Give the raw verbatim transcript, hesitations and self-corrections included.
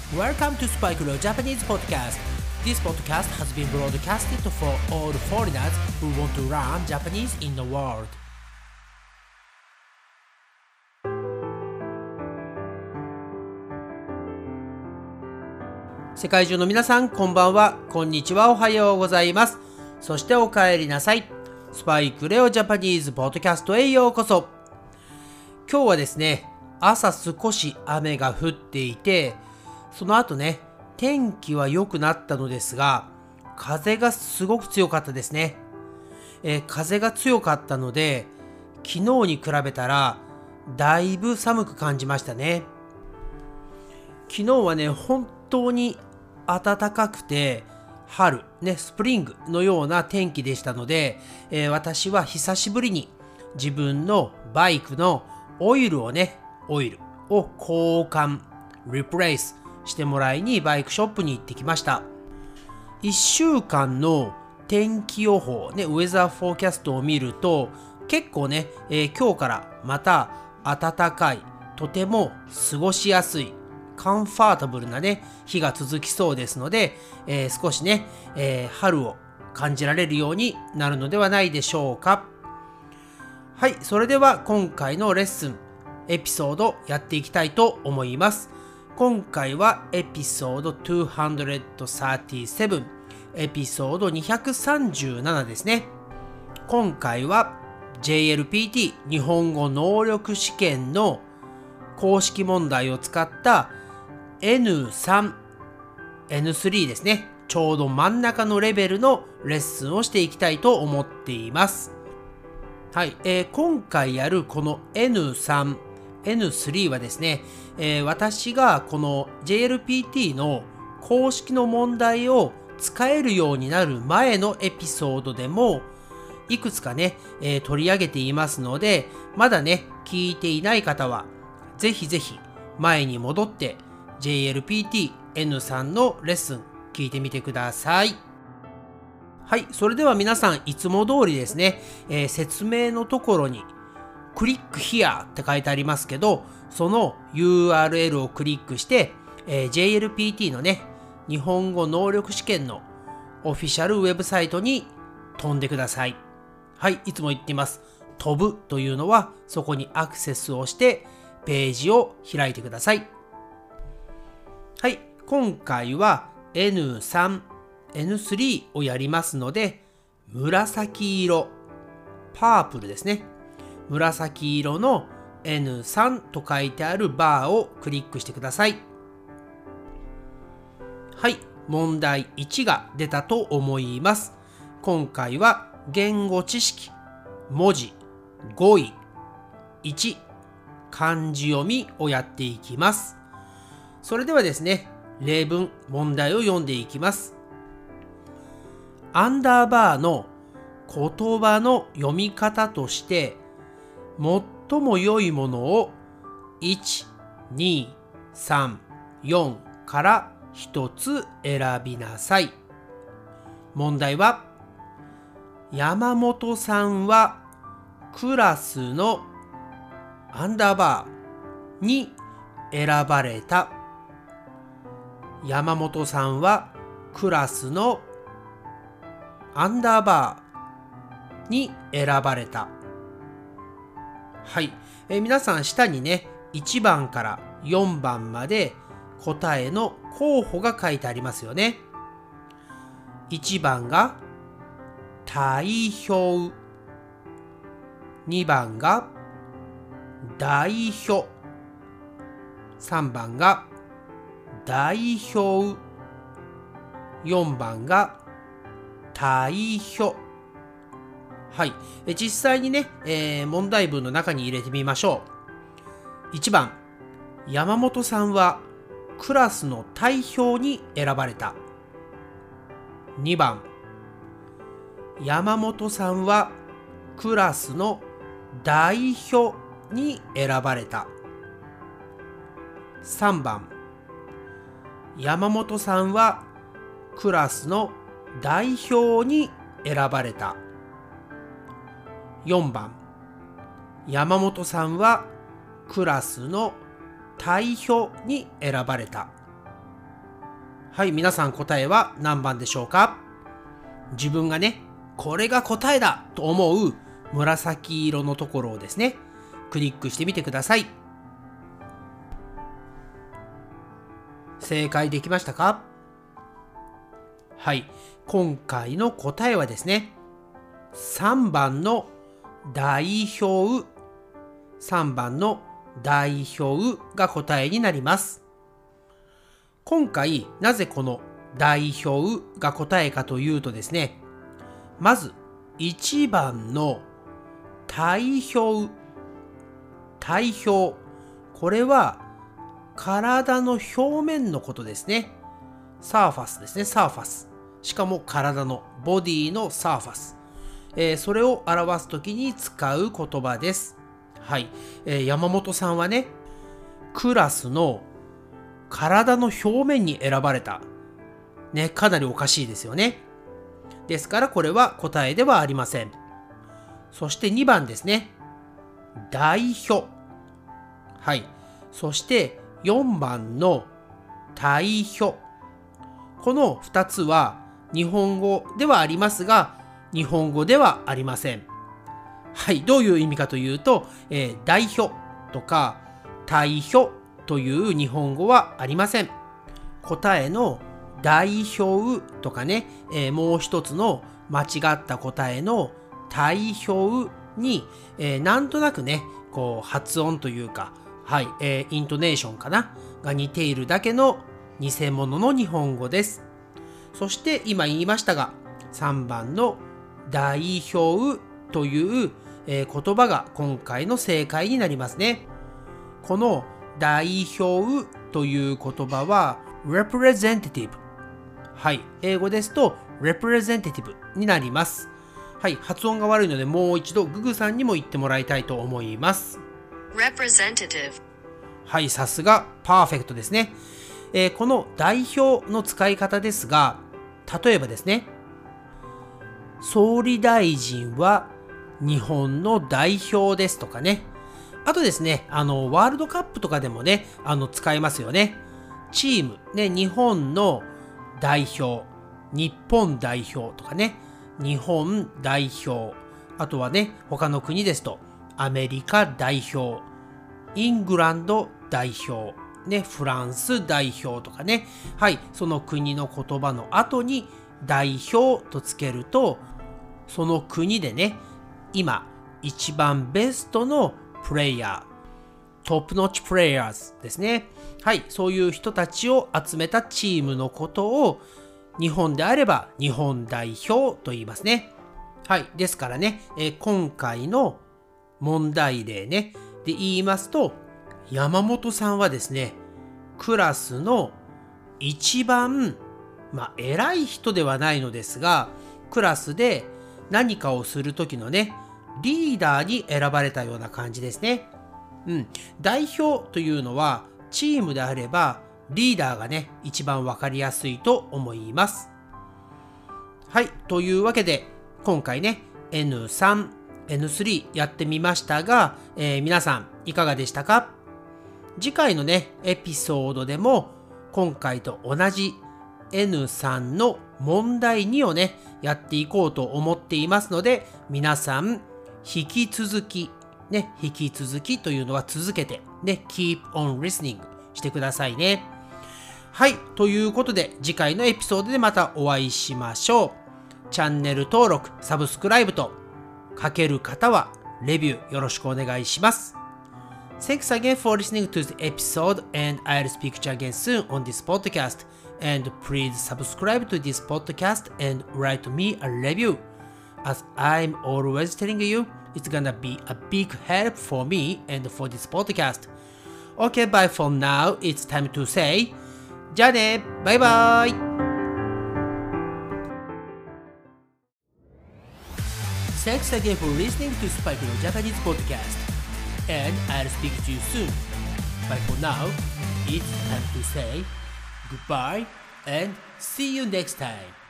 Welcome to Spike Leo Japanese Podcast. This podcast has been broadcasted for all foreigners who want to learn Japanese in the world. 世界中の皆さん、こんばんは、こんにちは、おはようございます。そしてお帰りなさい。スパイクレオジャパニーズポッドキャストへようこそ。今日はですね、朝少し雨が降っていて、その後ね、天気は良くなったのですが、風がすごく強かったですね。えー、風が強かったので、昨日に比べたらだいぶ寒く感じましたね。昨日はね、本当に暖かくて、春、ね、スプリングのような天気でしたので、えー、私は久しぶりに自分のバイクのオイルをね、オイルを交換、リプレイスしてもらいにバイクショップに行ってきました。いっしゅうかんの天気予報、ね、ウェザーフォーキャストを見ると、結構ね、えー、今日からまた暖かい、とても過ごしやすい、カンファータブルなね、日が続きそうですので、えー、少しね、えー、春を感じられるようになるのではないでしょうか。はい、それでは今回のレッスン、エピソードやっていきたいと思います。今回はエピソードにひゃくさんじゅうなな、エピソードにひゃくさんじゅうななですね。今回は ジェイエルピーティー 日本語能力試験の公式問題を使った エヌスリー、エヌスリー ですね。ちょうど真ん中のレベルのレッスンをしていきたいと思っています。はい、えー、今回やるこの エヌスリー、エヌスリー はですね、えー、私がこの ジェイエルピーティー の公式の問題を使えるようになる前のエピソードでもいくつかね、えー、取り上げていますので、まだね、聞いていない方はぜひぜひ前に戻って ジェイエルピーティーエヌスリー のレッスン聞いてみてください。はい、それでは皆さんいつも通りですね、えー、説明のところにクリック here って書いてありますけど、その ユーアールエル をクリックして、えー、ジェイエルピーティー のね、日本語能力試験のオフィシャルウェブサイトに飛んでください。はい、いつも言っています。飛ぶというのはそこにアクセスをしてページを開いてください。はい、今回は エヌスリー、エヌスリー をやりますので、紫色、パープルですね。紫色の エヌスリー と書いてあるバーをクリックしてください。はい、問題いちが出たと思います。今回は言語知識、文字、語彙、いち、漢字読みをやっていきます。それではですね、例文、問題を読んでいきます。アンダーバーの言葉の読み方として、最も良いものをいち、に、さん、よんからひとつ選びなさい。問題は、山本さんはクラスのアンダーバーに選ばれた。山本さんはクラスのアンダーバーに選ばれた。はい、えー、皆さん下にね、いちばんからよんばんまで答えの候補が書いてありますよね。いちばんが体表、にばんが代表、さんばんが代表、よんばんが対表。はい、え実際にね、えー、問題文の中に入れてみましょう。いちばん、山本さんはクラスの代表に選ばれた。にばん、山本さんはクラスの代表に選ばれた。さんばん、山本さんはクラスの代表に選ばれた。よんばん、山本さんはクラスの代表に選ばれた。 はい、皆さん答えは何番でしょうか？自分がね、これが答えだと思う紫色のところをですね、クリックしてみてください。正解できましたか？はい、今回の答えはですね、さんばんの代表、さんばんの代表が答えになります。今回なぜこの代表が答えかというとですね、まずいちばんの体表、体表、これは体の表面のことですね。サーファスですね、サーファス。しかも体のボディのサーファス。えー、それを表すときに使う言葉です。はい、えー。山本さんはね、クラスの体の表面に選ばれた。ね、かなりおかしいですよね。ですからこれは答えではありません。そしてにばんですね。代表。はい。そしてよんばんの体表。このふたつは日本語ではありますが、日本語ではありません。はい。どういう意味かというと、えー、代表とか体表という日本語はありません。答えの代表とかね、えー、もう一つの間違った答えの体表に、えー、なんとなくね、こう発音というか、はい、えー、イントネーションかなが似ているだけの偽物の日本語です。そして今言いましたが、さんばんの代表という、えー、言葉が今回の正解になりますね。この代表という言葉は representative。はい、英語ですと representative になります。はい、発音が悪いのでもう一度ググさんにも言ってもらいたいと思います。 representative。 はい、さすがパーフェクトですね。えー、この代表の使い方ですが、例えばですね、総理大臣は日本の代表ですとかね。あとですね、あの、ワールドカップとかでもね、あの、使えますよね。チーム、ね、日本の代表、日本代表とかね、日本代表、あとはね、他の国ですと、アメリカ代表、イングランド代表、ね、フランス代表とかね、はい、その国の言葉の後に代表とつけると、その国でね、今、一番ベストのプレイヤー、トップノッチプレイヤーズですね。はい、そういう人たちを集めたチームのことを日本であれば日本代表と言いますね。はい、ですからね、えー、今回の問題例ね、で言いますと、山本さんはですね、クラスの一番、まあ、偉い人ではないのですが、クラスで何かをするときのね、リーダーに選ばれたような感じですね。うん。代表というのは、チームであれば、リーダーがね、一番わかりやすいと思います。はい。というわけで、今回ね、エヌスリー、エヌスリー やってみましたが、えー、皆さんいかがでしたか？次回のね、エピソードでも、今回と同じ エヌスリー の問題にをね、やっていこうと思っていますので、皆さん、引き続き、ね、引き続きというのは続けて、ね、keep on listening してくださいね。はい、ということで、次回のエピソードでまたお会いしましょう。チャンネル登録、サブスクライブと、書ける方は、レビューよろしくお願いします。Thanks again for listening to the episode, and I'll speak to you again soon on this podcast. And please subscribe to this podcast and write me a review. As I'm always telling you, it's gonna be a big help for me and for this podcast. Okay, bye for now. It's time to say, じゃあね、バイバイ。Thanks again for listening to Spike no Japanese podcast. And I'll speak to you soon. But for now, it's time to say goodbye and see you next time.